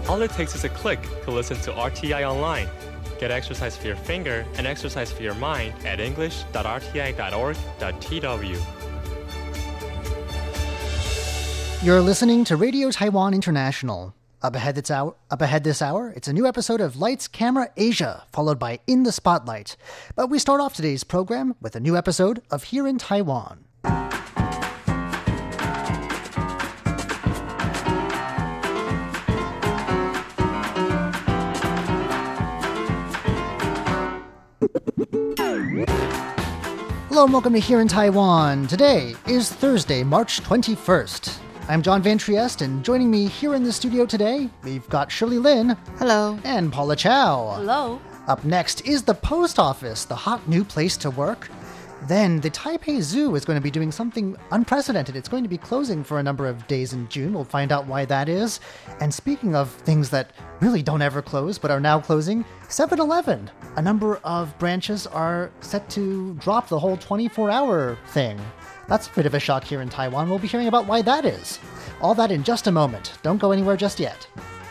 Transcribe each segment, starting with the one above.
All it takes is a click to listen to RTI online. Get exercise for your finger and exercise for your mind at english.rti.org.tw. You're listening to Radio Taiwan International. Up ahead this hour, it's a new episode of Lights, Camera, Asia, followed by In the Spotlight. But we start off today's program with a new episode of Here in Taiwan. Hello and welcome to Here in Taiwan. Today is Thursday, March 21st. I'm John Van Trieste, and joining me here in the studio today, we've got Shirley Lin. Hello. And Paula Chow. Hello. Up next is the post office, the hot new place to work. Then the Taipei Zoo is going to be doing something unprecedented. It's going to be closing for a number of days in June. We'll find out why that is. And speaking of things that really don't ever close but are now closing, 7-Eleven. A number of branches are set to drop the whole 24-hour thing. That's a bit of a shock here in Taiwan. We'll be hearing about why that is. All that in just a moment. Don't go anywhere just yet.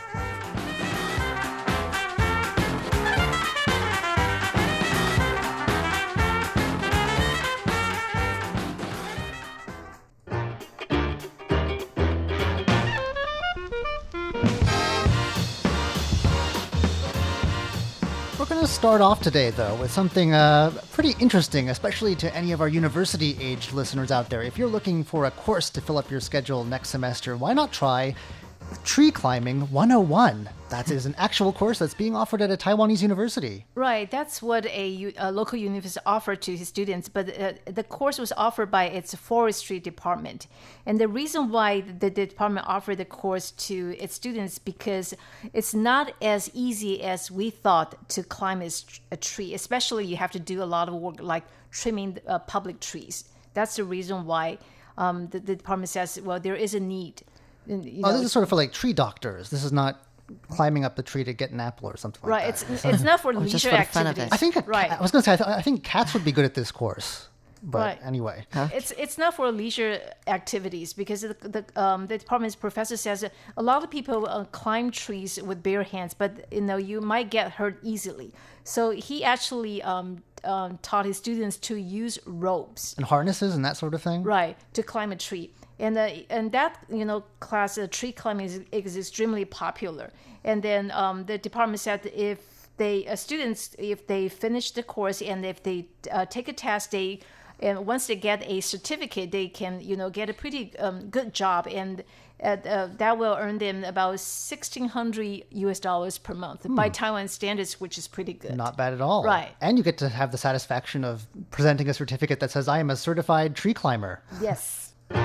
We're going to start off today, though, with something pretty interesting, especially to any of our university-aged listeners out there. If you're looking for a course to fill up your schedule next semester, why not try Tree Climbing 101? That is an actual course that's being offered at a Taiwanese university. Right, that's what a local university offered to his students, but the course was offered by its forestry department. And the reason why the department offered the course to its students because it's not as easy as we thought to climb a tree, especially you have to do a lot of work like trimming public trees. That's the reason why the department says, well, there is a need. This is sort of for like tree doctors. This is not climbing up the tree to get an apple or something like that. Right, it's not for leisure activities. I think I was going to say I think cats would be good at this course. But anyway, it's not for leisure activities because the department's professor says a lot of people climb trees with bare hands, but you might get hurt easily. So he actually taught his students to use ropes and harnesses and that sort of thing. Right, to climb a tree. And that class, tree climbing is extremely popular. And then the department said if students finish the course and if they take a test, and once they get a certificate, they can get a pretty good job, and that will earn them about $1,600 per month by Taiwan standards, which is pretty good. Not bad at all. Right. And you get to have the satisfaction of presenting a certificate that says I am a certified tree climber. Yes.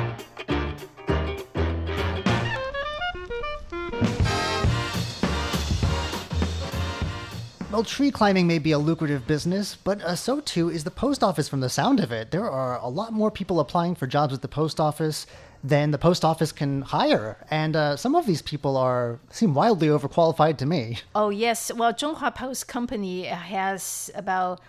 Well, tree climbing may be a lucrative business, but so too is the post office from the sound of it. There are a lot more people applying for jobs at the post office than the post office can hire. And some of these people seem wildly overqualified to me. Oh, yes. Well, Zhonghua Post Company has about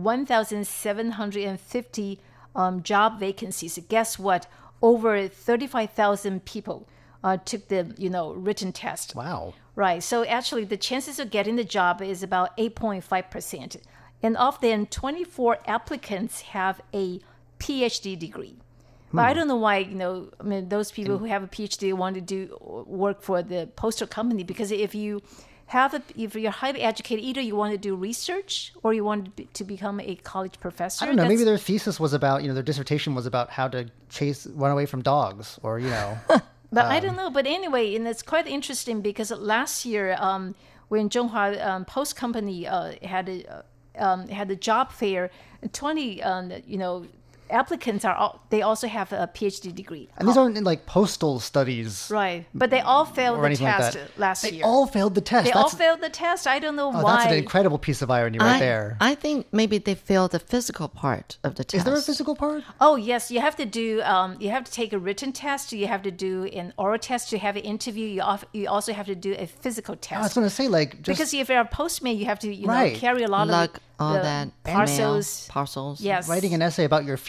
1,750 job vacancies. Guess what? Over 35,000 people took the written test. Wow. Right. So actually, the chances of getting the job is about 8.5%. And of them, 24 applicants have a PhD degree. But I don't know why, those people who have a PhD want to do work for the postal company, because if you're highly educated, either you want to do research or you want to become a college professor. I don't know. Maybe their thesis was about, their dissertation was about how to run away from dogs or, But I don't know. But anyway, and it's quite interesting because last year, when Zhonghua Post Company had a job fair, 20 applicants they also have a PhD degree. And these aren't in like postal studies. Right. But they all failed the test last year. They all failed the test. They all failed the test. I don't know why. That's an incredible piece of irony right there. I think maybe they failed the physical part of the test. Is there a physical part? Oh, yes. You have to do, you have to take a written test. You have to do an oral test. You have an interview. You also have to do a physical test. I was going to say, because if you're a postman, you have to, right. carry a lot of all that parcels. Yes. Writing an essay about your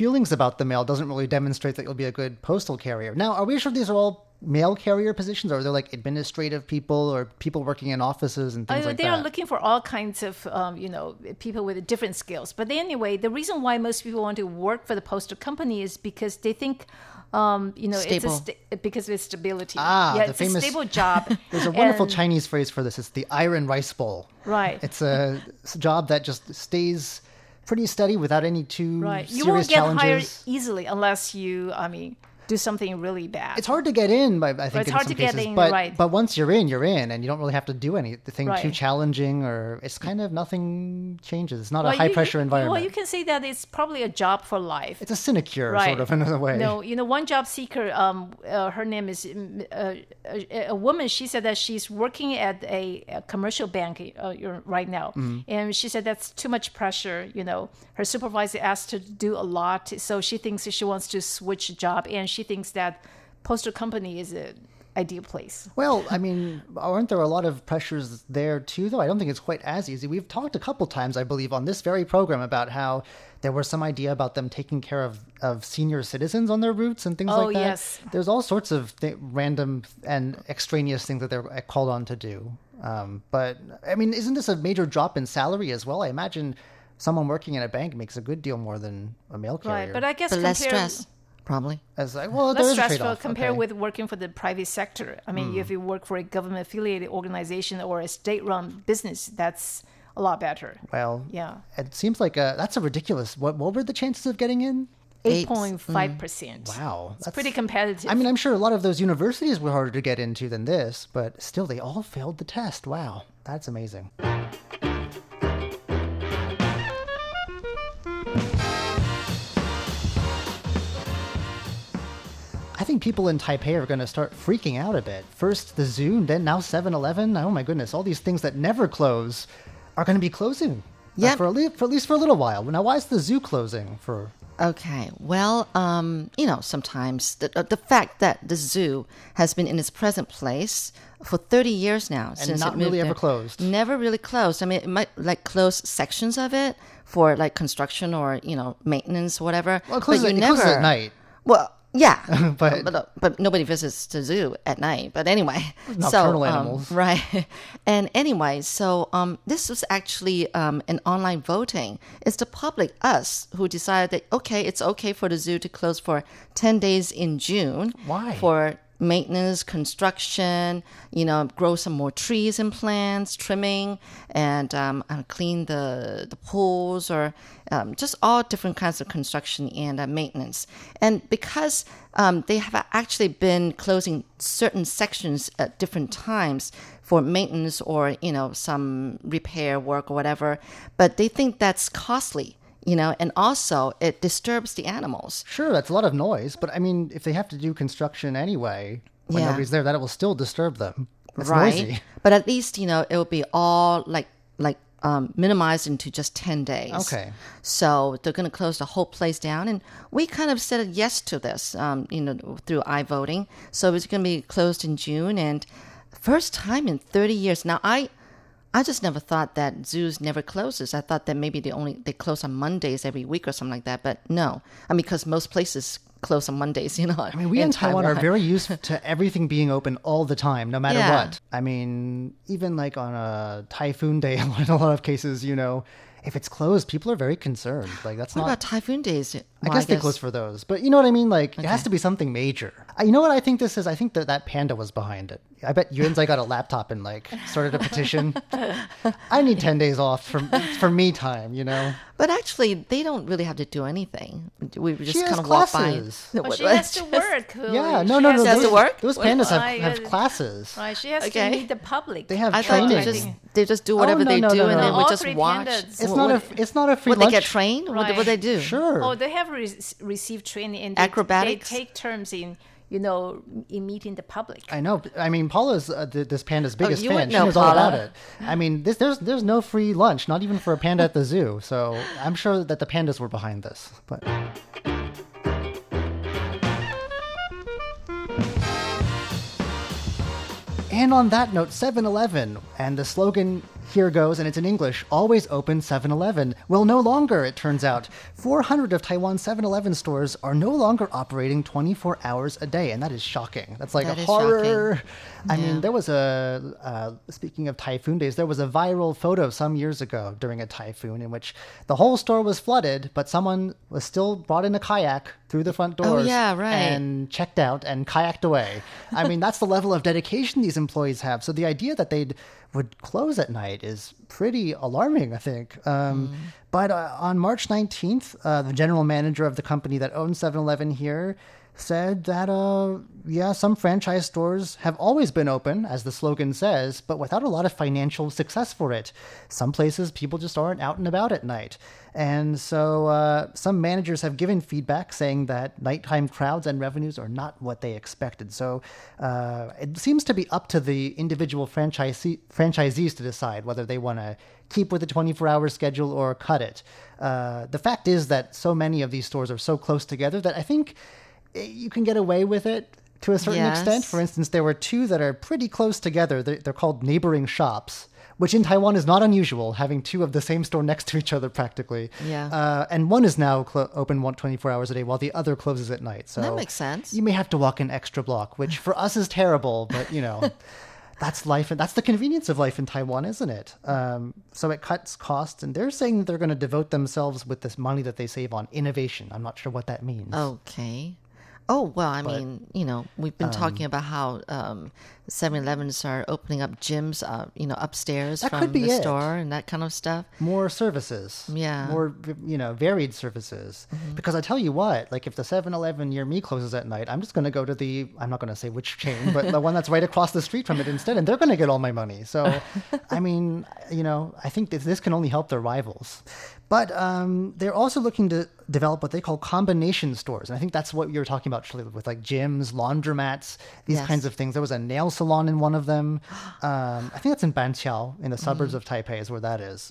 feelings about the mail doesn't really demonstrate that you'll be a good postal carrier. Now, are we sure these are all mail carrier positions, or are there like administrative people or people working in offices and things like they that? are looking for all kinds of, people with different skills. But anyway, the reason why most people want to work for the postal company is because they think, Stable. because of its stability. Ah, yeah, the it's famous- a stable job. There's a wonderful And- Chinese phrase for this. It's the iron rice bowl. Right. It's a job that just stays pretty steady without any too Right. You serious won't get challenges. hired easily unless you, do something really bad. It's hard to get in, I think, it's in hard some to get cases. in, but, right. but once you're in, and you don't really have to do anything Right. too challenging, or it's kind of nothing changes. It's not Well, a high-pressure environment. Well, you can say that it's probably a job for life. It's a sinecure, Right. sort of, in a way. No, one job seeker, her name is a woman. She said that she's working at a commercial bank right now. And she said that's too much pressure. Her supervisor asked her to do a lot. So she thinks she wants to switch job. And she thinks that postal company is an ideal place. Well, aren't there a lot of pressures there too, though? I don't think it's quite as easy. We've talked a couple times, I believe, on this very program about how there was some idea about them taking care of senior citizens on their routes and things Oh, like that. yes. There's all sorts of random and extraneous things that they're called on to do. But, isn't this a major drop in salary as well? I imagine someone working in a bank makes a good deal more than a mail carrier. Right. But I guess But less compared- stress, probably. there less is a stressful trade-off. compared Okay. with working for the private sector. If you work for a government-affiliated organization or a state-run business, that's a lot better. Well, Yeah. it seems like that's a ridiculous. What were the chances of getting in? 8.5%. Wow, It's pretty competitive. I'm sure a lot of those universities were harder to get into than this, but still, they all failed the test. Wow, that's amazing. I think people in Taipei are going to start freaking out a bit. First the zoo, then now 7-Eleven. Oh my goodness, all these things that never close are going to be closing. Yep. For at least for a little while. Now, why is the zoo closing for? Okay. Well, sometimes the fact that the zoo has been in its present place for 30 years now, since not it moved really ever there, closed. Never really closed. It might close sections of it for construction or maintenance or whatever. Well, it but closes, you it never. closes at night. Well, yeah, But- but nobody visits the zoo at night. But anyway, Nocturnal animals. right? And anyway, so this was actually an online voting. It's the public, us, who decided that it's okay for the zoo to close for 10 days in June. Why? For maintenance, construction, grow some more trees and plants, trimming, and clean the pools, or just all different kinds of construction and maintenance. And because they have actually been closing certain sections at different times for maintenance or, some repair work or whatever, but they think that's costly. And also it disturbs the animals. Sure, that's a lot of noise, but if they have to do construction anyway, when Yeah. nobody's there, that will still disturb them. It's Right. noisy. But at least, it will be all minimized into just 10 days. Okay. So they're going to close the whole place down. And we kind of said yes to this, through iVoting. So it's going to be closed in June, and first time in 30 years. Now, I just never thought that zoos never closes. I thought that maybe they close on Mondays every week or something like that. But no, because most places close on Mondays, We in Taiwan are very used to everything being open all the time, no matter Yeah. what. Even on a typhoon day, in a lot of cases, if it's closed, people are very concerned. That's What not. about typhoon days? I guess they close for those, but you know what I mean. It has to be something major. You know what I think this is? I think that panda was behind it. I bet Yuanzai got a laptop and started a petition. I need 10 days off for me time. But actually, they don't really have to do anything. We She just has kind of walk by. classes. Well, she has to work. Yeah, She no. has She has to work? Those pandas Right, have yeah. classes. Right, she has Okay. to meet the public. They have I thought training. they just do whatever no, they no, do, no, and no. then we All just three watch. pandas. It's not a free Would lunch. they get trained? Right. What they do? Sure. Oh, they have received training and Acrobatics? They take turns in meeting the public. I know. Paula's this panda's biggest you fan. would She know, knows all about Paula. it. There's no free lunch, not even for a panda at the zoo. So I'm sure that the pandas were behind this. But and on that note, 7-Eleven, and the slogan Here goes, and it's in English. Always open 7-Eleven. Well, no longer, it turns out. 400 of Taiwan's 7-Eleven stores are no longer operating 24 hours a day, and that is shocking. That's like That a is horror. shocking. I mean, there was speaking of typhoon days, there was a viral photo some years ago during a typhoon in which the whole store was flooded, but someone was still brought in a kayak through the front doors yeah, right. and checked out and kayaked away. I mean, that's the level of dedication these employees have. So the idea that they would close at night is pretty alarming, I think. But on March 19th, the general manager of the company that owns 7-Eleven here said that, some franchise stores have always been open, as the slogan says, but without a lot of financial success for it. Some places, people just aren't out and about at night. And so some managers have given feedback saying that nighttime crowds and revenues are not what they expected. So it seems to be up to the individual franchisees to decide whether they want to keep with the 24-hour schedule or cut it. The fact is that so many of these stores are so close together that I think you can get away with it to a certain extent. For instance, there were two that are pretty close together. They're called neighboring shops, which in Taiwan is not unusual, having two of the same store next to each other practically. Yeah. And one is now open 24 hours a day while the other closes at night. So That makes sense. You may have to walk an extra block, which for us is terrible, but that's life. And that's the convenience of life in Taiwan, isn't it? So it cuts costs, and they're saying that they're going to devote themselves with this money that they save on innovation. I'm not sure what that means. Okay. Oh, well, I mean, we've been talking about how 7-Elevens are opening up gyms, upstairs That from could be the it. store and that kind of stuff. More services. Yeah. More, varied services. Because I tell you what, like if the 7-Eleven near me closes at night, I'm just going to go to I'm not going to say which chain, but the one that's right across the street from it instead, and they're going to get all my money. So, I mean, I think this can only help their rivals. But they're also looking to develop what they call combination stores. And I think that's what you were talking about, Shirley, with like gyms, laundromats, these Yes. kinds of things. There was a nail salon in one of them. I think that's in Banqiao, in the suburbs of Taipei is where that is.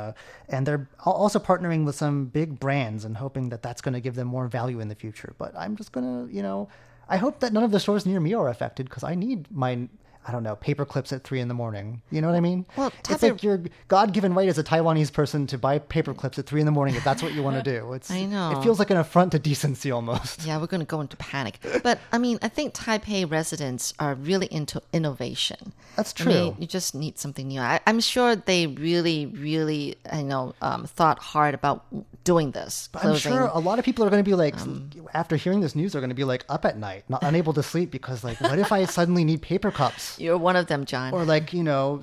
And they're also partnering with some big brands and hoping that that's going to give them more value in the future. But I'm just going to, I hope that none of the stores near me are affected because I need my paper clips at 3 a.m. You know what I mean? Well, it's like your God-given right as a Taiwanese person to buy paper clips at 3 a.m. if that's what you want to do. I know. It feels like an affront to decency almost. Yeah, we're going to go into panic. But I mean, I think Taipei residents are really into innovation. That's I mean, true. you just need something new. I'm sure they really, really, thought hard about doing this. But I'm closing. sure a lot of people are going to be like, after hearing this news, they're going to be like up at night, not unable to sleep because like, what if I suddenly need paper cups? You're one of them, John. Or like,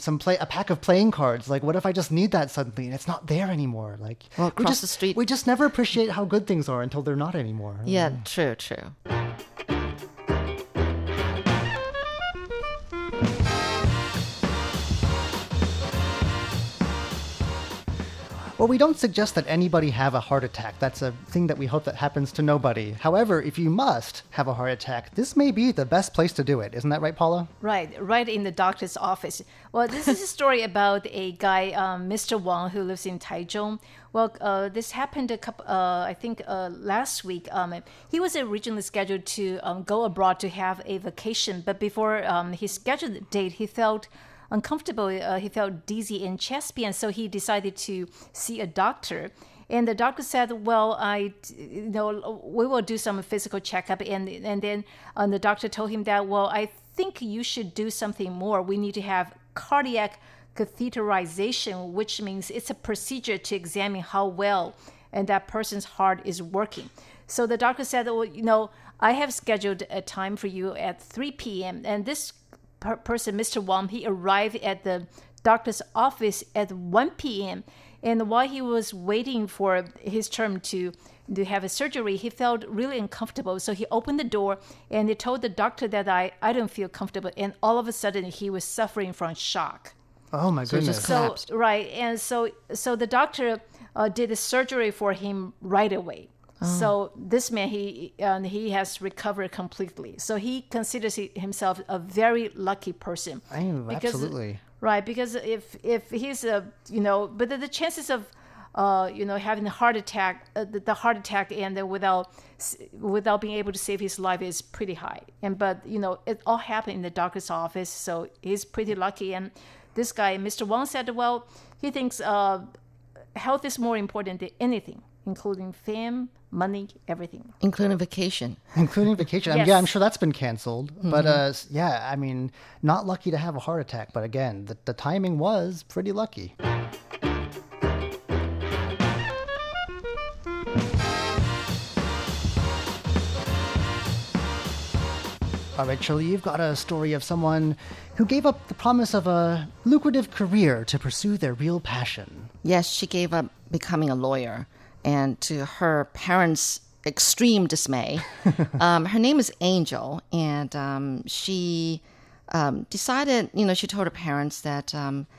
a pack of playing cards. Like, what if I just need that suddenly and it's not there anymore? Like, Well, we across the street- we just never appreciate how good things are until they're not anymore. Yeah, true. Well, we don't suggest that anybody have a heart attack. That's a thing that we hope that happens to nobody. However, if you must have a heart attack, this may be the best place to do it. Isn't that right, Paula? Right in the doctor's office. Well, this is a story about a guy, Mr. Wang, who lives in Taichung. Well, this happened last week. He was originally scheduled to go abroad to have a vacation, but before his scheduled date, he felt uncomfortable. He felt dizzy and chest pain, so he decided to see a doctor. And the doctor said, "Well, we will do some physical checkup." And then the doctor told him that, "Well, I think you should do something more. We need to have cardiac catheterization, which means it's a procedure to examine how well and that person's heart is working." So the doctor said, "Well, I have scheduled a time for you at 3 p.m. And this person, Mr. Wang, he arrived at the doctor's office at 1 p.m. And while he was waiting for his turn to have a surgery, he felt really uncomfortable. So he opened the door and he told the doctor that I don't feel comfortable. And all of a sudden, he was suffering from shock. Oh my goodness. just So collapsed. right, and so the doctor did the surgery for him right away. So this man, he has recovered completely. So he considers himself a very lucky person. Absolutely. Right, because if he's but the chances of having a heart attack, the heart attack, and then without being able to save his life is pretty high. But it all happened in the doctor's office, so he's pretty lucky. And this guy, Mr. Wang, said, well, he thinks health is more important than anything, including fame, money, everything. Including vacation. Including vacation. Yes. Yeah, I'm sure that's been canceled. But yeah, I mean, not lucky to have a heart attack. But again, the timing was pretty lucky. All right, Shirley, you've got a story of someone who gave up the promise of a lucrative career to pursue their real passion. Yes, she gave up becoming a lawyer, and to her parents' extreme dismay, her name is Angel, and she decided, she told her parents that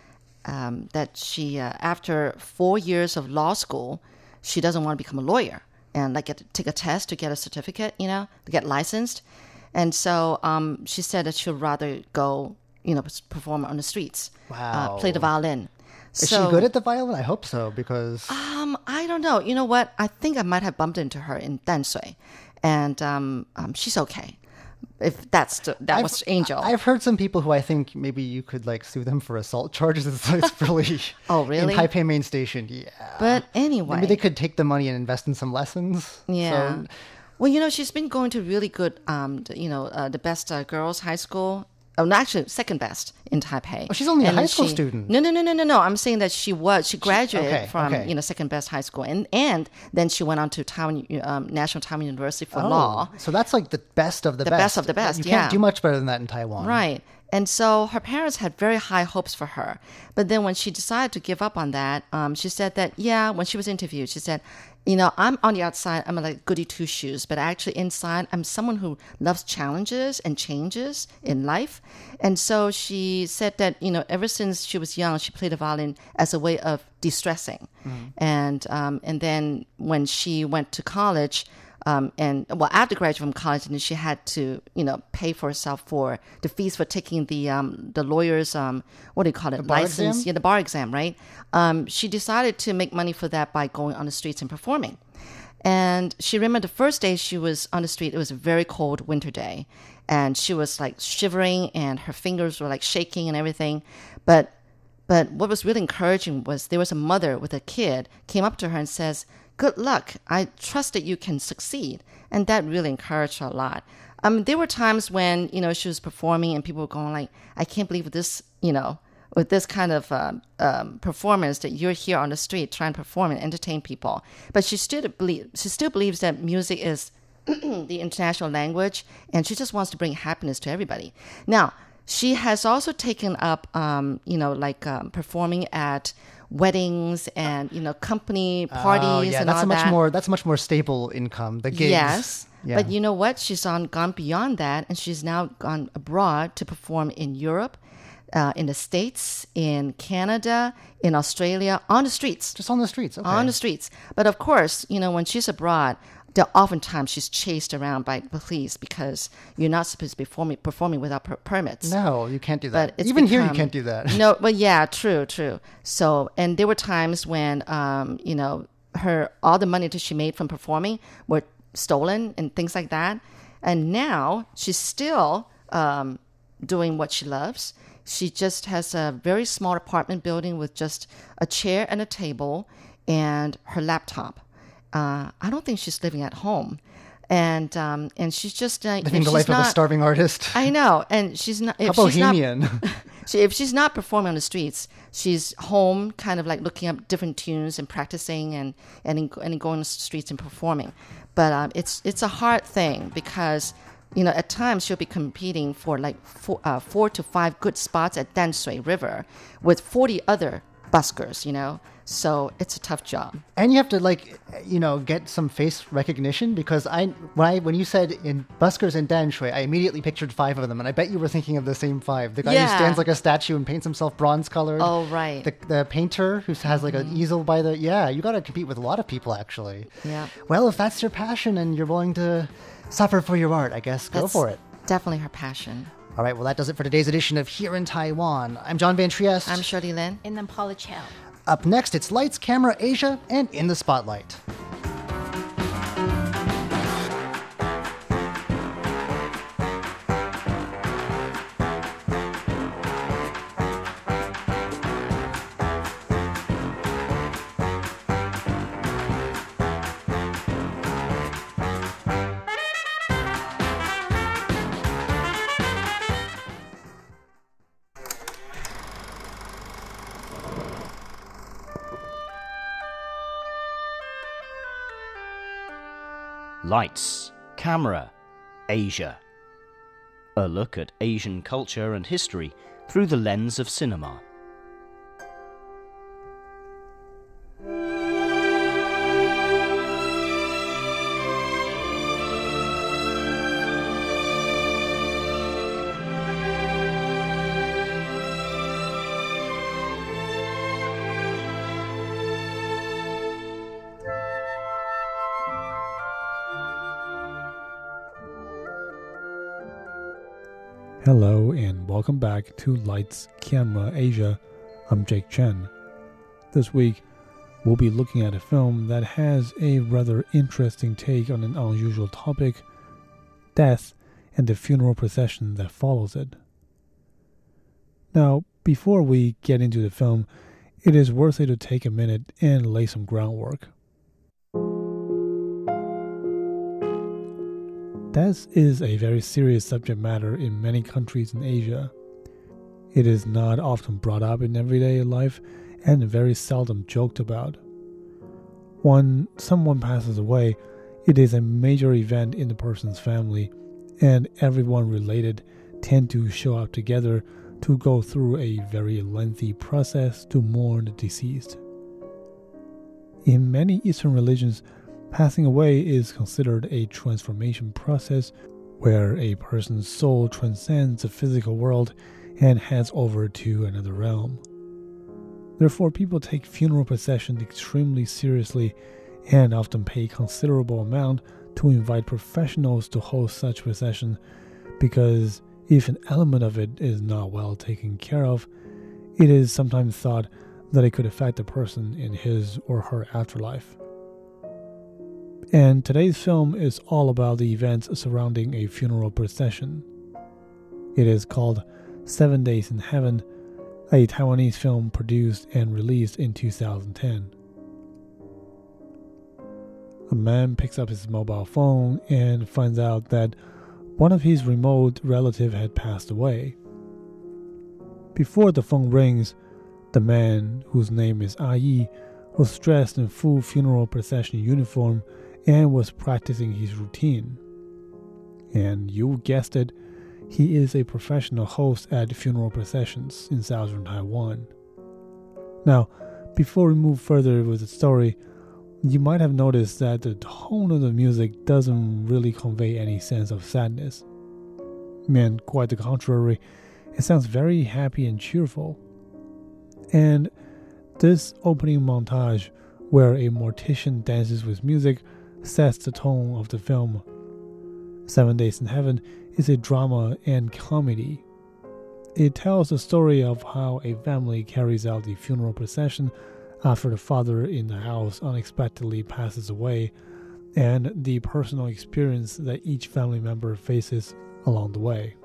that she, after 4 years of law school, she doesn't want to become a lawyer and take a test to get a certificate, to get licensed. And so she said that she'd rather go, perform on the streets, Wow. play the violin. Is she good at the violin? I hope so, because... I don't know. You know what? I think I might have bumped into her in Danshui, and she's okay. If that was Angel. I've heard some people who I think maybe you could sue them for assault charges. It's really... Oh, really? In Taipei Main Station, yeah. But anyway. Maybe they could take the money and invest in some lessons. Yeah. So, well, she's been going to really good, the best girls' high school. Oh, no, actually, second best in Taipei. Oh, she's only a And high school student. No. I'm saying that she graduated okay, from, okay. second best high school. And then she went on to National Taiwan University for oh, law. So that's the best of the best. The best of the best, You yeah. can't do much better than that in Taiwan. Right. And so her parents had very high hopes for her. But then when she decided to give up on that, she said that, when she was interviewed, she said, I'm on the outside, I'm like goody two shoes, but actually inside, I'm someone who loves challenges and changes in life. And so she said that, ever since she was young, she played the violin as a way of de-stressing. And then when she went to college, after graduating from college, and then she had to, pay for herself for the fees for taking the lawyer's, what do you call it, bar license? exam? Yeah, the bar exam, right? She decided to make money for that by going on the streets and performing. And she remembered the first day she was on the street, it was a very cold winter day. And she was shivering and her fingers were shaking and everything. But what was really encouraging was there was a mother with a kid came up to her and says, "Good luck. I trust that you can succeed." And that really encouraged her a lot. There were times when, she was performing and people were going "I can't believe this, with this kind of performance that you're here on the street trying to perform and entertain people." But she still believes that music is the international language, and she just wants to bring happiness to everybody. Now, she has also taken up, performing at weddings and company parties and that's all a much that. more that's much more stable income. The gigs. Yes, Yeah. but you know what? She's gone beyond that, and she's now gone abroad to perform in Europe, in the States, in Canada, in Australia, on the streets. Just on the streets. Okay. On the streets. But of course, when she's abroad, oftentimes she's chased around by the police because you're not supposed to be performing without permits. No, you can't do that. But it's Even here, you become- can't do that. No, but yeah, true. So, and there were times when, all the money that she made from performing were stolen and things like that. And now she's still doing what she loves. She just has a very small apartment building with just a chair and a table and her laptop. I don't think she's living at home. And she's just Living the life of a starving artist. I know, and she's not. How If she's not, bohemian. if she's not performing on the streets, she's home, kind of looking up different tunes and practicing, and going on the streets and performing. But it's a hard thing because at times she'll be competing for 4 to 5 good spots at Danshui River with 40 other buskers. So it's a tough job. And you have to get some face recognition, because when you said in buskers in Danshui, I immediately pictured 5 of them, and I bet you were thinking of the same 5. The guy who Yeah. stands like a statue and paints himself bronze colored. Oh, right. The painter who has an easel by the you got to compete with a lot of people actually. Yeah. Well, if that's your passion and you're willing to suffer for your art, I guess go That's for it. Definitely her passion. All right, well that does it for today's edition of Here in Taiwan. I'm John Van Trieste. I'm Shirley Lin. And then Paula Chow. Up next, it's Lights, Camera, Asia, and In the Spotlight. Lights, Camera, Asia. A look at Asian culture and history through the lens of cinema. Hello and welcome back to Lights, Camera, Asia. I'm Jake Chen. This week, we'll be looking at a film that has a rather interesting take on an unusual topic, death and the funeral procession that follows it. Now, before we get into the film, it is worth it to take a minute and lay some groundwork. Death is a very serious subject matter in many countries in Asia. It is not often brought up in everyday life and very seldom joked about. When someone passes away, it is a major event in the person's family, and everyone related tend to show up together to go through a very lengthy process to mourn the deceased. In many Eastern religions, passing away is considered a transformation process where a person's soul transcends the physical world and heads over to another realm. Therefore, people take funeral procession extremely seriously and often pay considerable amount to invite professionals to host such procession, because if an element of it is not well taken care of, it is sometimes thought that it could affect the person in his or her afterlife. And today's film is all about the events surrounding a funeral procession. It is called 7 Days in Heaven, a Taiwanese film produced and released in 2010. A man picks up his mobile phone and finds out that one of his remote relatives had passed away. Before the phone rings, the man, whose name is Yi, was dressed in full funeral procession uniform and was practicing his routine. And you guessed it, he is a professional host at funeral processions in southern Taiwan. Now, before we move further with the story, you might have noticed that the tone of the music doesn't really convey any sense of sadness. And quite the contrary, it sounds very happy and cheerful. And this opening montage, where a mortician dances with music, sets the tone of the film. 7 Days in Heaven is a drama and comedy. It tells the story of how a family carries out the funeral procession after the father in the house unexpectedly passes away, and the personal experience that each family member faces along the way.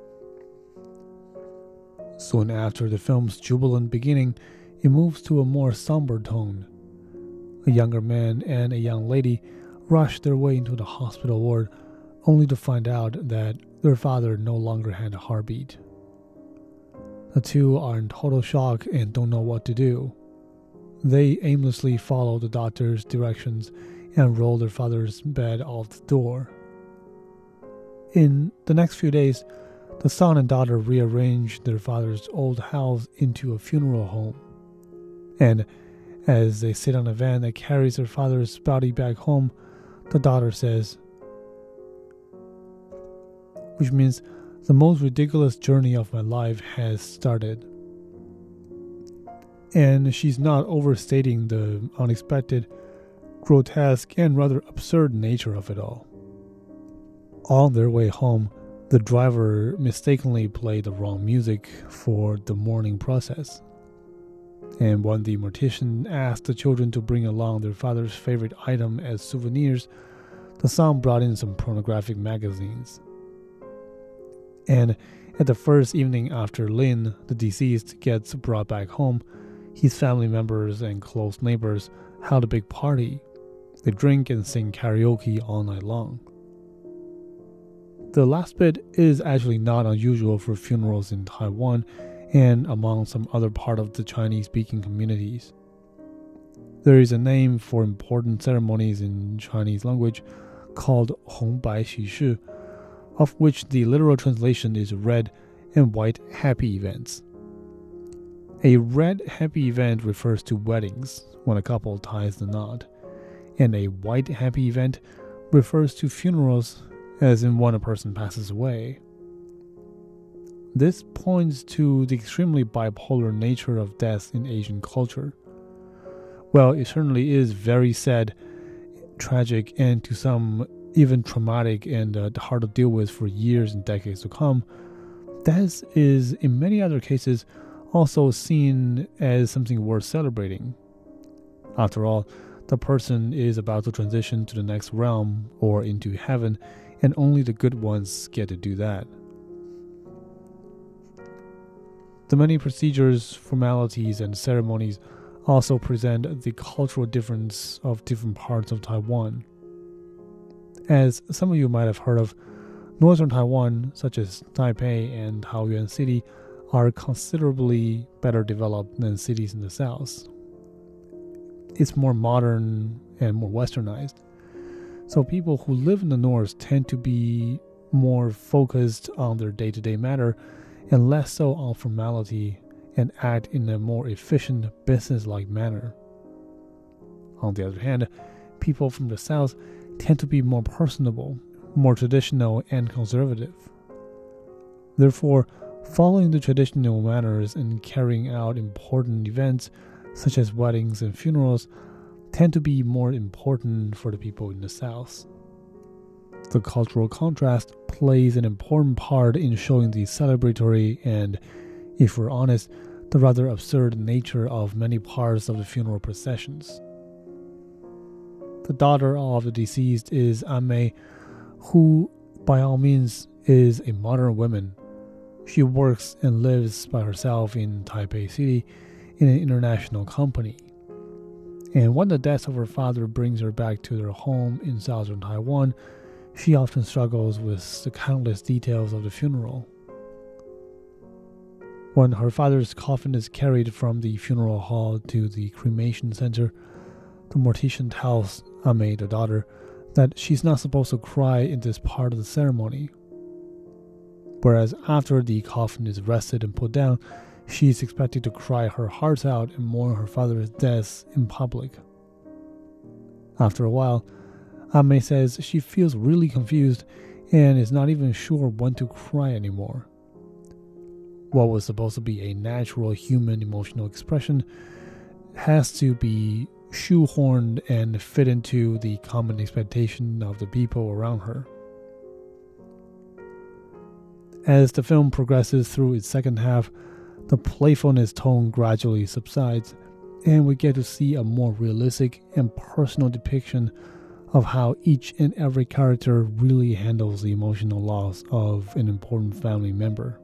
Soon after the film's jubilant beginning, it moves to a more somber tone. A younger man and a young lady rush their way into the hospital ward, only to find out that their father no longer had a heartbeat. The two are in total shock and don't know what to do. They aimlessly follow the doctor's directions and roll their father's bed out the door. In the next few days, the son and daughter rearrange their father's old house into a funeral home. And as they sit on a van that carries their father's body back home, the daughter says, which means the most ridiculous journey of my life has started. And she's not overstating the unexpected, grotesque, and rather absurd nature of it all. On their way home, the driver mistakenly played the wrong music for the mourning process. And when the mortician asked the children to bring along their father's favorite item as souvenirs, the son brought in some pornographic magazines. And at the first evening after Lin, the deceased, gets brought back home, his family members and close neighbors held a big party. They drink and sing karaoke all night long. The last bit is actually not unusual for funerals in Taiwan and among some other part of the Chinese-speaking communities. There is a name for important ceremonies in Chinese language called 红白喜事, of which the literal translation is red and white happy events. A red happy event refers to weddings, when a couple ties the knot, and a white happy event refers to funerals, as in when a person passes away. This points to the extremely bipolar nature of death in Asian culture. Well, it certainly is very sad, tragic, and to some even traumatic and hard to deal with for years and decades to come. Death is, in many other cases, also seen as something worth celebrating. After all, the person is about to transition to the next realm or into heaven, and only the good ones get to do that. The many procedures, formalities, and ceremonies also present the cultural difference of different parts of Taiwan. As some of you might have heard of, northern Taiwan, such as Taipei and Taoyuan City, are considerably better developed than cities in the south. It's more modern and more westernized. So people who live in the north tend to be more focused on their day-to-day matter and less so on formality and act in a more efficient, business-like manner. On the other hand, people from the south tend to be more personable, more traditional, and conservative. Therefore, following the traditional manners and carrying out important events, such as weddings and funerals, tend to be more important for the people in the south. The cultural contrast plays an important part in showing the celebratory and, if we're honest, the rather absurd nature of many parts of the funeral processions. The daughter of the deceased is An-mei, who, by all means, is a modern woman. She works and lives by herself in Taipei City in an international company. And when the death of her father brings her back to their home in southern Taiwan, she often struggles with the countless details of the funeral. When her father's coffin is carried from the funeral hall to the cremation center, the mortician tells An-mei, the daughter, that she's not supposed to cry in this part of the ceremony. Whereas after the coffin is rested and put down, she is expected to cry her heart out and mourn her father's death in public. After a while, An-mei says she feels really confused and is not even sure when to cry anymore. What was supposed to be a natural human emotional expression has to be shoehorned and fit into the common expectation of the people around her. As the film progresses through its second half, the playfulness tone gradually subsides, and we get to see a more realistic and personal depiction of how each and every character really handles the emotional loss of an important family member.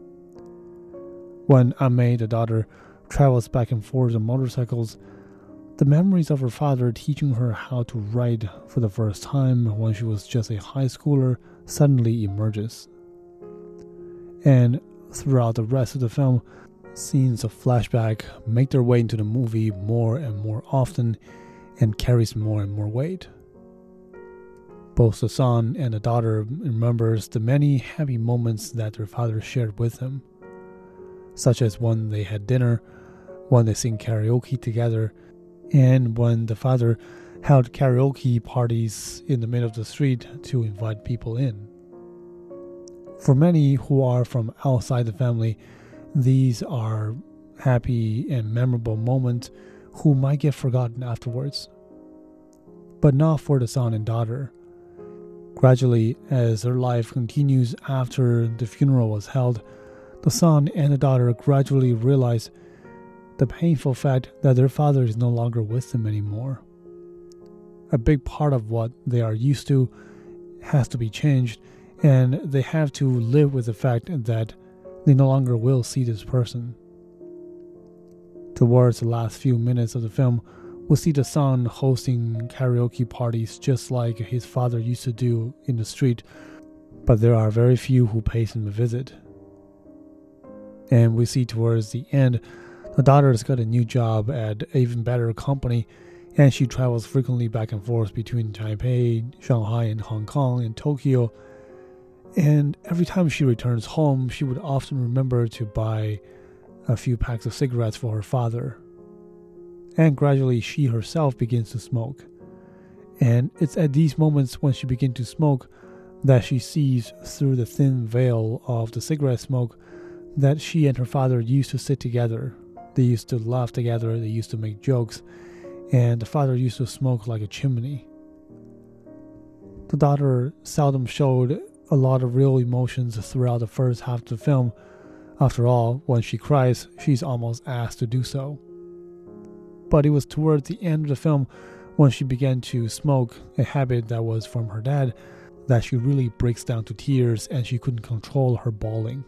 When An-mei, the daughter, travels back and forth on motorcycles, the memories of her father teaching her how to ride for the first time when she was just a high schooler suddenly emerges. And throughout the rest of the film, scenes of flashback make their way into the movie more and more often and carries more and more weight. Both the son and the daughter remembers the many happy moments that their father shared with them, such as when they had dinner, when they sing karaoke together, and when the father held karaoke parties in the middle of the street to invite people in. For many who are from outside the family, these are happy and memorable moments who might get forgotten afterwards. But not for the son and daughter. Gradually, as their life continues after the funeral was held, the son and the daughter gradually realize the painful fact that their father is no longer with them anymore. A big part of what they are used to has to be changed, and they have to live with the fact that they no longer will see this person. Towards the last few minutes of the film, we'll see the son hosting karaoke parties just like his father used to do in the street, but there are very few who pay him a visit. And we see towards the end, the daughter has got a new job at an even better company, and she travels frequently back and forth between Taipei, Shanghai, and Hong Kong and Tokyo. And every time she returns home, she would often remember to buy a few packs of cigarettes for her father. And gradually she herself begins to smoke. And it's at these moments when she begins to smoke that she sees through the thin veil of the cigarette smoke that she and her father used to sit together. They used to laugh together, they used to make jokes, and the father used to smoke like a chimney. The daughter seldom showed a lot of real emotions throughout the first half of the film. After all, when she cries, she's almost asked to do so. But it was towards the end of the film, when she began to smoke, a habit that was from her dad, that she really breaks down to tears and she couldn't control her bawling.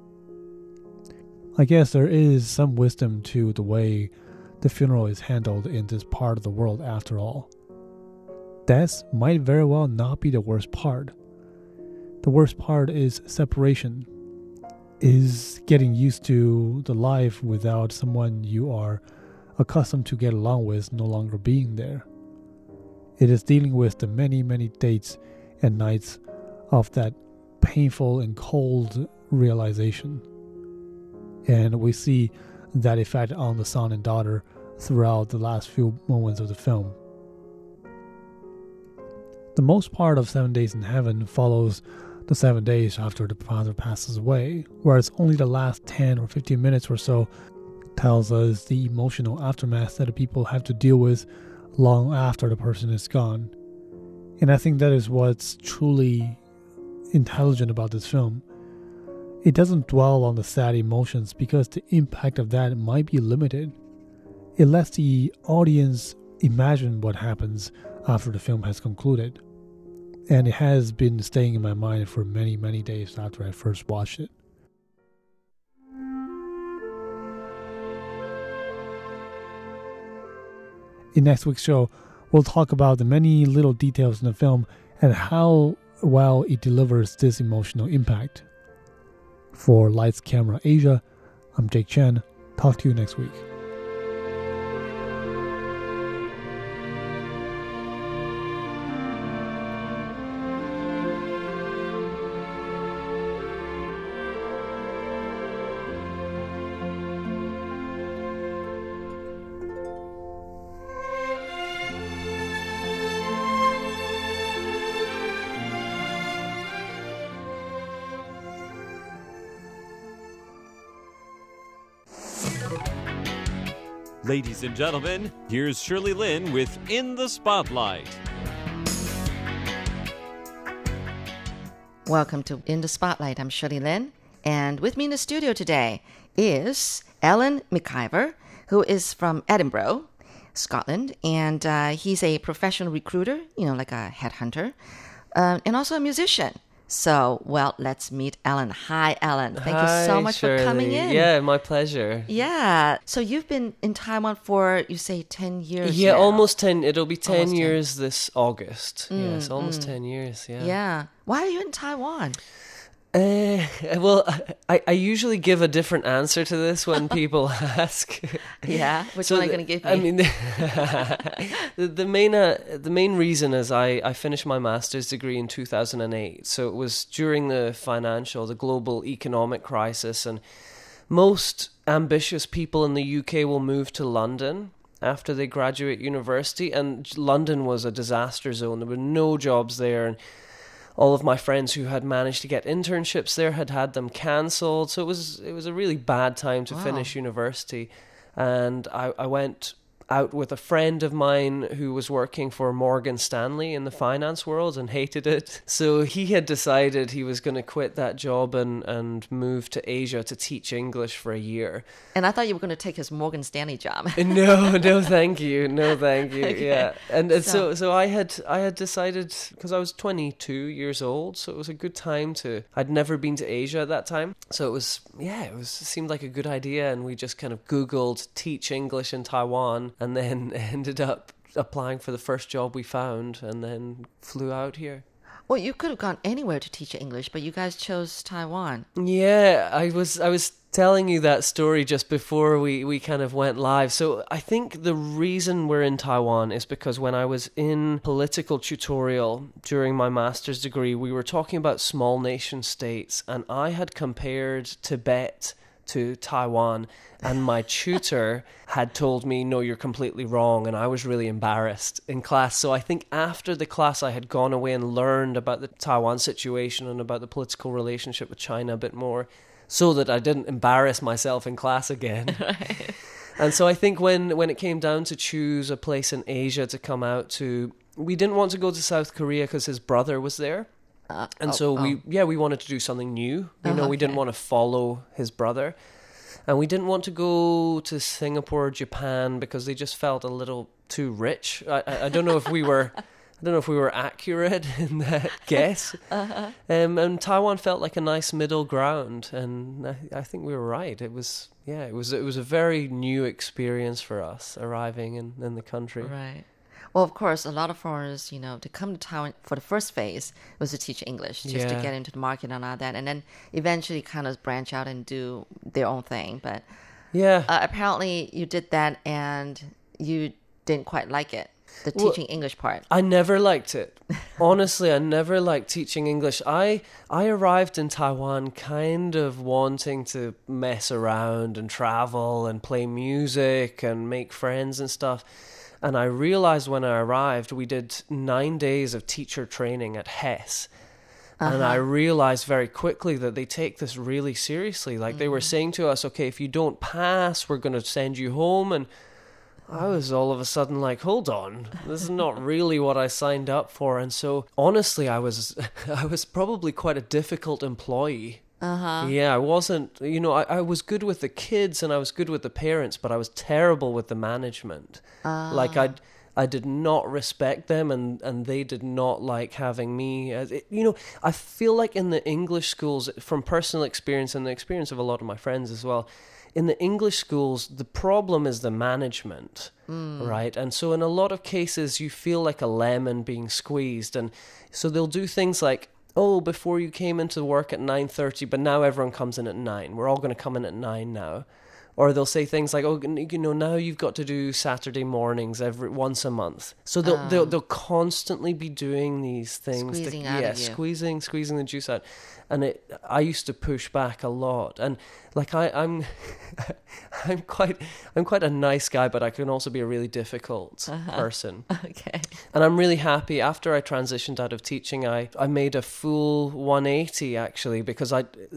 I guess there is some wisdom to the way the funeral is handled in this part of the world after all. Death might very well not be the worst part. The worst part is separation, is getting used to the life without someone you are accustomed to get along with no longer being there. It is dealing with the many, many days and nights of that painful and cold realization. And we see that effect on the son and daughter throughout the last few moments of the film. The most part of 7 Days in Heaven follows the 7 days after the father passes away, whereas only the last 10 or 15 minutes or so tells us the emotional aftermath that the people have to deal with long after the person is gone. And I think that is what's truly intelligent about this film. It doesn't dwell on the sad emotions because the impact of that might be limited. It lets the audience imagine what happens after the film has concluded. And it has been staying in my mind for many, many days after I first watched it. In next week's show, we'll talk about the many little details in the film and how well it delivers this emotional impact. For Lights Camera Asia, I'm Jake Chen. Talk to you next week. Ladies and gentlemen, here's Shirley Lin with In the Spotlight. Welcome to In the Spotlight. I'm Shirley Lin. And with me in the studio today is Alan McIver, who is from Edinburgh, Scotland. And he's a professional recruiter, like a headhunter, and also a musician. So, well, let's meet Alan. Hi, Alan. Thank you so much Shirley. for coming in. Yeah, my pleasure. Yeah. So you've been in Taiwan for, you say, 10 years Yeah, now. almost 10. It'll be 10 Almost 10. years this August. Yes, almost 10 years, yeah. Yeah. Why are you in Taiwan? Well, I usually give a different answer to this when people ask. Yeah? Which one are you going to give me? I mean, the main reason is I finished my master's degree in 2008. So it was during the global economic crisis, and most ambitious people in the UK will move to London after they graduate university, and London was a disaster zone. There were no jobs there, and all of my friends who had managed to get internships there had them cancelled. So it was a really bad time to finish university. And I went out with a friend of mine who was working for Morgan Stanley in the finance world and hated it. So he had decided he was going to quit that job and move to Asia to teach English for a year. And I thought you were going to take his Morgan Stanley job. No, thank you. No, thank you. Okay. Yeah. And so I had decided, because I was 22 years old, so it was a good time I'd never been to Asia at that time. So it seemed like a good idea, and we just kind of Googled teach English in Taiwan, and then ended up applying for the first job we found, and then flew out here. Well, you could have gone anywhere to teach English, but you guys chose Taiwan. Yeah, I was telling you that story just before we kind of went live. So I think the reason we're in Taiwan is because when I was in political tutorial during my master's degree, we were talking about small nation states, and I had compared Tibet to Taiwan, and my tutor had told me, no, you're completely wrong, and I was really embarrassed in class. So I think after the class I had gone away and learned about the Taiwan situation and about the political relationship with China a bit more, so that I didn't embarrass myself in class again. Right. And so I think when it came down to choose a place in Asia to come out to, we didn't want to go to South Korea because his brother was there. We wanted to do something new. We didn't want to follow his brother. And we didn't want to go to Singapore or Japan because they just felt a little too rich. I don't know if we were accurate in that guess. And Taiwan felt like a nice middle ground, and I think we were right. It was a very new experience for us arriving in the country. Right. Well, of course, a lot of foreigners, to come to Taiwan for the first phase was to teach English, just to get into the market and all that, and then eventually kind of branch out and do their own thing. But apparently you did that and you didn't quite like it, the teaching English part. I never liked it. Honestly, I never liked teaching English. I arrived in Taiwan kind of wanting to mess around and travel and play music and make friends and stuff. And I realized when I arrived, we did 9 days of teacher training at Hess. And I realized very quickly that they take this really seriously. Like they were saying to us, okay, if you don't pass, we're going to send you home. And I was all of a sudden like, hold on, this is not really what I signed up for. And so honestly, I was probably quite a difficult employee. Yeah, I wasn't, I was good with the kids and I was good with the parents, but I was terrible with the management. Like I did not respect them and they did not like having me. I feel like in the English schools, from personal experience and the experience of a lot of my friends as well, in the English schools, the problem is the management, right? And so in a lot of cases, you feel like a lemon being squeezed. And so they'll do things like, oh, before you came into work at 9:30, but now everyone comes in at 9. We're all going to come in at 9 now. Or they'll say things like, oh, now you've got to do Saturday mornings once a month. So they'll constantly be doing these things. Squeezing the juice out. And I used to push back a lot. And like I'm quite a nice guy, but I can also be a really difficult person. Okay. And I'm really happy after I transitioned out of teaching, I made a full 180 actually, because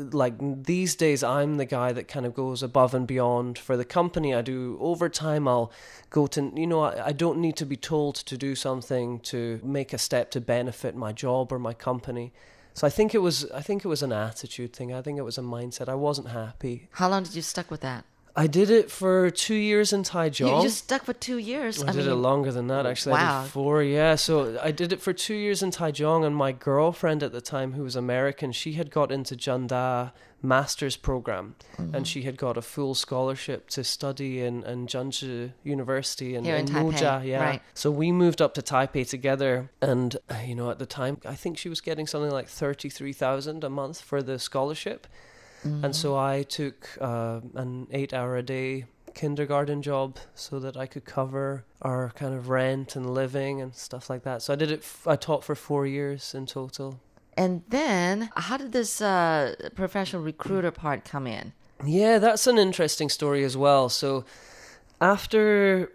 these days I'm the guy that kind of goes above and beyond for the company. I do overtime. I'll go to, I don't need to be told to do something to make a step to benefit my job or my company. So I think it was an attitude thing. I think it was a mindset. I wasn't happy. How long did you stuck with that? I did it for 2 years in Taichung. You just stuck for 2 years? I did it longer than that, actually. Wow. I did 4, yeah. So I did it for 2 years in Taichung, and my girlfriend at the time, who was American, she had got into Janda master's program, and she had got a full scholarship to study in Zhengzhi University in Muzhou. Yeah. Right. So we moved up to Taipei together, and at the time, I think she was getting something like 33,000 a month for the scholarship. And so I took an 8-hour-a-day kindergarten job so that I could cover our kind of rent and living and stuff like that. So I taught for 4 years in total. And then how did this professional recruiter part come in? Yeah, that's an interesting story as well. So after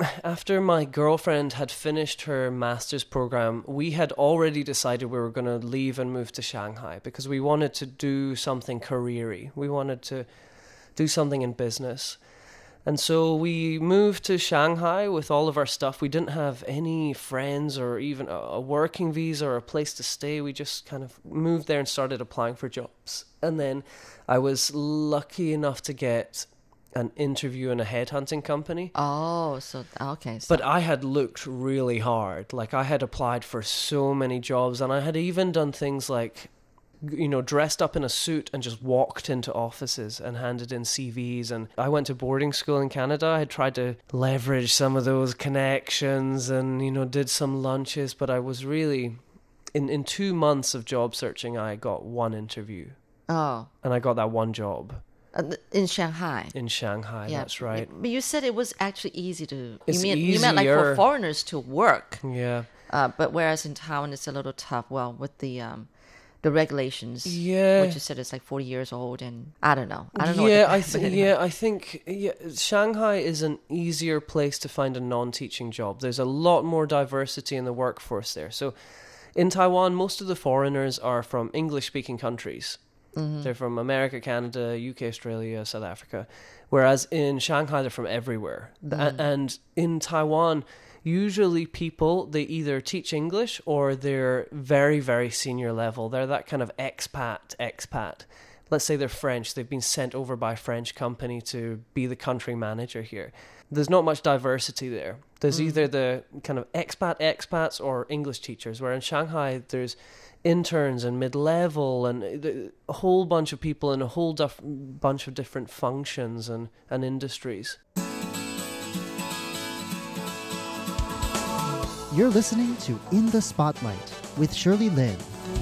my girlfriend had finished her master's program, we had already decided we were going to leave and move to Shanghai because we wanted to do something career-y. We wanted to do something in business. And so we moved to Shanghai with all of our stuff. We didn't have any friends or even a working visa or a place to stay. We just kind of moved there and started applying for jobs. And then I was lucky enough to get an interview in a headhunting company. Oh, so okay. But I had looked really hard. Like I had applied for so many jobs, and I had even done things like, dressed up in a suit and just walked into offices and handed in CVs. And I went to boarding school in Canada. I had tried to leverage some of those connections and, did some lunches, but I was really, in 2 months of job searching, I got one interview. Oh. And I got that one job. In Shanghai. In Shanghai, Yeah, that's right. But you said it was actually easy to. It's You meant like for easier. foreigners to work. Yeah. But whereas in Taiwan it's a little tough. Well, with the regulations. Yeah. Which you said is like 40 years old, and I don't know. I don't know. Yeah, what the- I think Shanghai is an easier place to find a non-teaching job. There's a lot more diversity in the workforce there. So in Taiwan, most of the foreigners are from English-speaking countries. They're from America, Canada, UK, Australia, South Africa. Whereas in Shanghai, they're from everywhere. And in Taiwan, usually people, they either teach English or they're very, very senior level. They're that kind of expat. Let's say they're French. They've been sent over by a French company to be the country manager here. There's not much diversity there. There's either the kind of expats or English teachers, where in Shanghai there's interns and mid-level and a whole bunch of people in a whole bunch of different functions and industries. You're listening to In the Spotlight with Shirley Lin.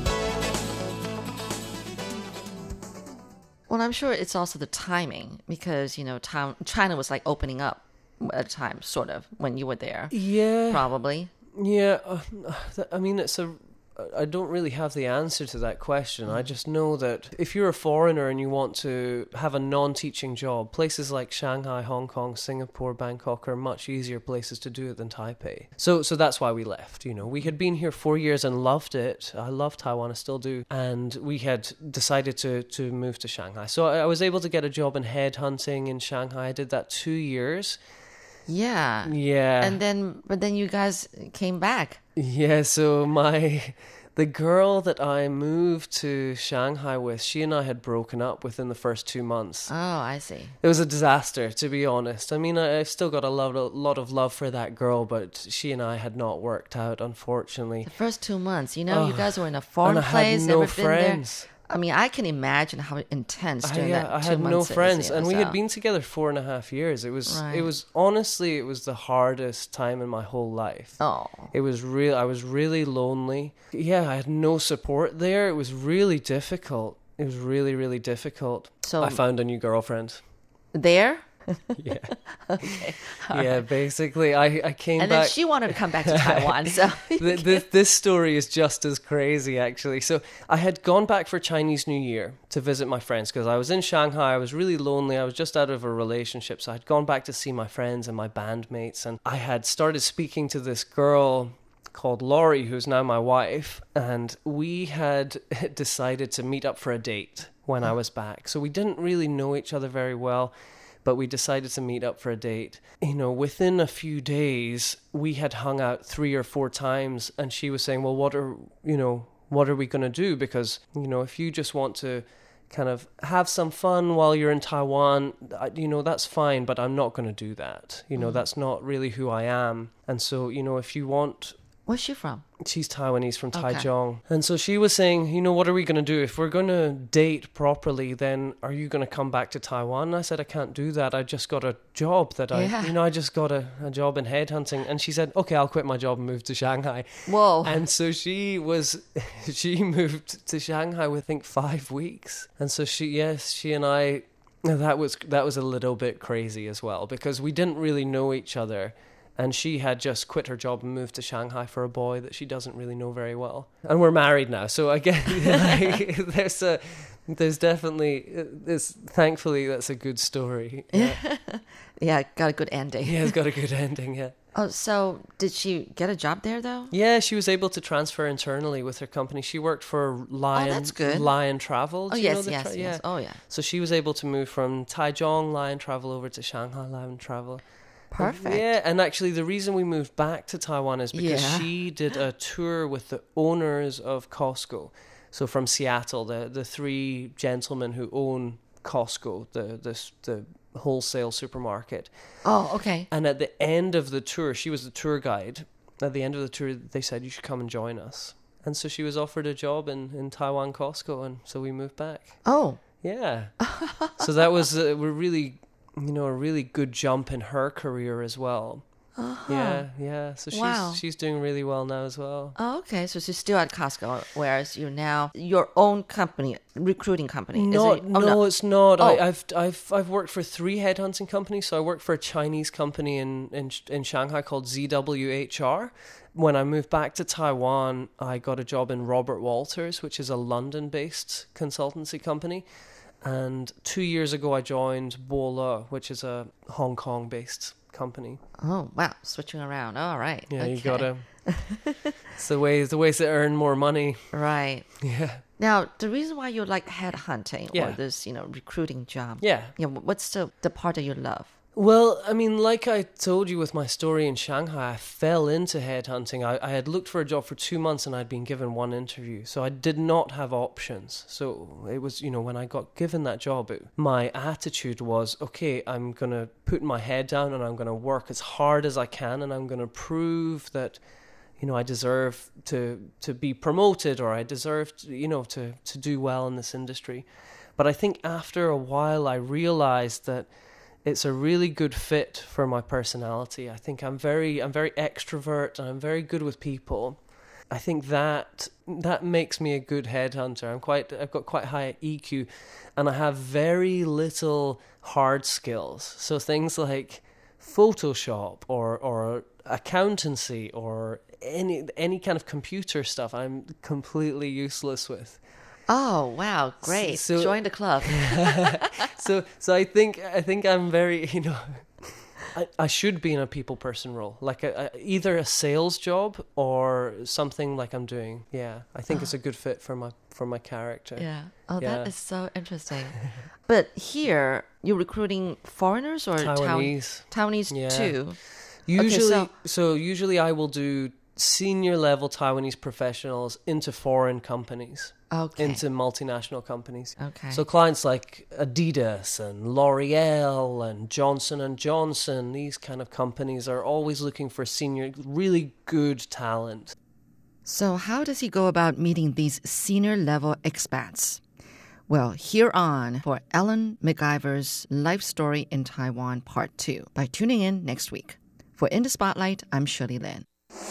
Well, I'm sure it's also the timing because, China was like opening up at a time, sort of, when you were there. Yeah. Probably. Yeah. I mean, I don't really have the answer to that question. I just know that if you're a foreigner and you want to have a non-teaching job, places like Shanghai, Hong Kong, Singapore, Bangkok are much easier places to do it than Taipei. So that's why we left. We had been here 4 years and loved it. I love Taiwan, I still do. And we had decided to move to Shanghai. So I was able to get a job in headhunting in Shanghai. I did that 2 years. Yeah. Yeah. But then you guys came back. Yeah, so the girl that I moved to Shanghai with, she and I had broken up within the first 2 months. Oh, I see. It was a disaster, to be honest. I mean, I've still got a lot of love for that girl, but she and I had not worked out, unfortunately. The first 2 months, you guys were in a foreign and I place, had no never friends. been there. I mean, I can imagine how intense during that 2 I had months no is, friends, and we had so- been together 4.5 years. It was Right. honestly, it was the hardest time in my whole life. Oh. It was real. I was really lonely. Yeah, I had no support there. It was really difficult. It was really, really difficult. So- I found a new girlfriend. There? Yeah. Okay. Yeah, basically, I came And back. then she wanted to come back to Taiwan, so... This story is just as crazy, actually. So I had gone back for Chinese New Year to visit my friends because I was in Shanghai. I was really lonely. I was just out of a relationship. So I had gone back to see my friends and my bandmates. And I had started speaking to this girl called Laurie, who's now my wife. And we had decided to meet up for a date when I was back. So we didn't really know each other very well, but we decided to meet up for a date. Within a few days, we had hung out 3 or 4 times, and she was saying, well, what are we going to do? Because, if you just want to kind of have some fun while you're in Taiwan, that's fine, but I'm not going to do that. That's not really who I am. And so, if you want... Where's she from? She's Taiwanese from Okay. Taichung. And so she was saying, what are we going to do? If we're going to date properly, then are you going to come back to Taiwan? And I said, I can't do that. I just got a job I just got a job in headhunting. And she said, okay, I'll quit my job and move to Shanghai. Whoa. And so she moved to Shanghai with, I think, 5 weeks. And so she and I, that was a little bit crazy as well, because we didn't really know each other. And she had just quit her job and moved to Shanghai for a boy that she doesn't really know very well. And we're married now. So again, there's definitely, thankfully, that's a good story. Yeah, Yeah, got a good ending. yeah, it's got a good ending, yeah. Oh, so did she get a job there, though? Yeah, she was able to transfer internally with her company. She worked for Lion, that's good. Lion Travel. Oh, Do you know yes, the yes, yeah. yes. Oh, yeah. So she was able to move from Taichung Lion Travel over to Shanghai Lion Travel. Perfect. Yeah, and actually the reason we moved back to Taiwan is because Yeah. she did a tour with the owners of Costco. So from Seattle, the 3 gentlemen who own Costco, the wholesale supermarket. Oh, okay. And at the end of the tour, she was the tour guide. At the end of the tour, they said, you should come and join us. And so she was offered a job in Taiwan Costco, and so we moved back. Oh. Yeah. So that was a really good jump in her career as well. Yeah. So she's doing really well now as well. Oh, okay. So she's still at Costco, whereas you're now your own company, recruiting company. No, it's not. Oh. I've worked for 3 headhunting companies. So I worked for a Chinese company in Shanghai called ZWHR. When I moved back to Taiwan, I got a job in Robert Walters, which is a London-based consultancy company. And 2 years ago, I joined Bola, which is a Hong Kong-based company. Oh, wow. Switching around. All right. Yeah, okay. you gotta. It's the ways to earn more money. Right. Yeah. Now, the reason why you like headhunting Yeah. or this, recruiting job. Yeah. What's the part that you love? Well, I mean, like I told you with my story in Shanghai, I fell into headhunting. I had looked for a job for 2 months and I'd been given 1 interview. So I did not have options. So it was, when I got given that job, my attitude was, okay, I'm going to put my head down and I'm going to work as hard as I can and I'm going to prove that, I deserve to be promoted or I deserve, to do well in this industry. But I think after a while I realized that it's a really good fit for my personality. I think I'm very extrovert and I'm very good with people. I think that makes me a good headhunter. I've got quite high EQ and I have very little hard skills. So things like Photoshop or accountancy or any kind of computer stuff I'm completely useless with. Oh, wow. Great. So, join the club. So I think I'm very, I should be in a people person role, like either a sales job or something like I'm doing. Yeah, I think it's a good fit for my character. Yeah. Oh, that is so interesting. But here, you're recruiting foreigners or Taiwanese? Taiwanese too. Usually I will do senior level Taiwanese professionals into foreign companies. Okay. Into multinational companies. Okay. So clients like Adidas and L'Oreal and Johnson & Johnson, these kind of companies are always looking for senior, really good talent. So how does he go about meeting these senior level expats? Well, here on for Ellen MacIver's Life Story in Taiwan Part 2 by tuning in next week. For In the Spotlight, I'm Shirley Lin.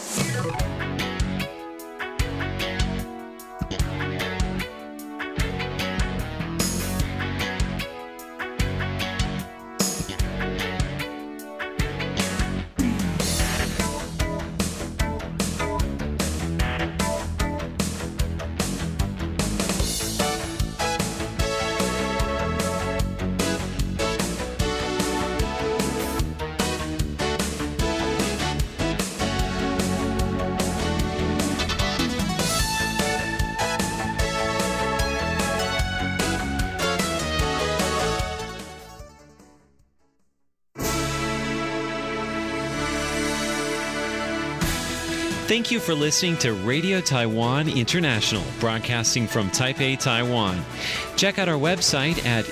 Thank you for listening to Radio Taiwan International, broadcasting from Taipei, Taiwan. Check out our website at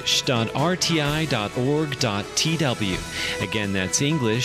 english.rti.org.tw. Again, that's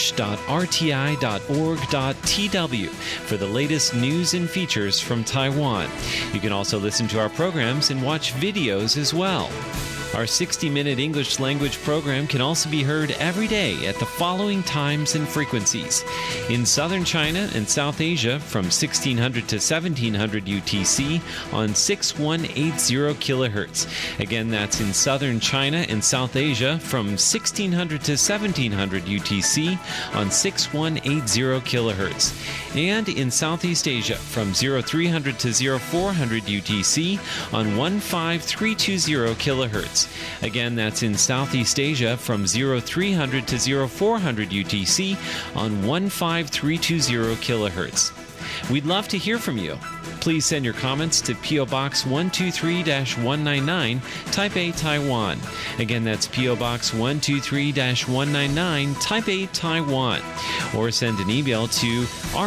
english.rti.org.tw for the latest news and features from Taiwan. You can also listen to our programs and watch videos as well. Our 60-minute English language program can also be heard every day at the following times and frequencies. In southern China and South Asia from 1600 to 1700 UTC on 6180 kHz. Again, that's in southern China and South Asia from 1600 to 1700 UTC on 6180 kHz. And in Southeast Asia from 0300 to 0400 UTC on 15320 kHz. Again, that's in Southeast Asia from 0300 to 0400 UTC on 15320 kHz. We'd love to hear from you. Please send your comments to P.O. Box 123-199, Taipei, Taiwan. Again, that's P.O. Box 123-199, Taipei, Taiwan. Or send an email to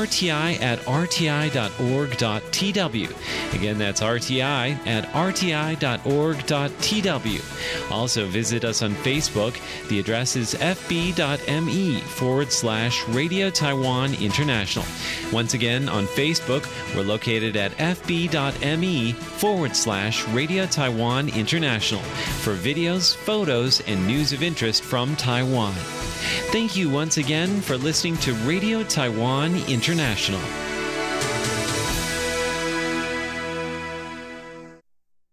rti@rti.org.tw. Again, that's rti@rti.org.tw. Also, visit us on Facebook. The address is fb.me/Radio Taiwan International. Once again, on Facebook, we're located at fb.me/Radio Taiwan International for videos, photos, and news of interest from Taiwan. Thank you once again for listening to Radio Taiwan International.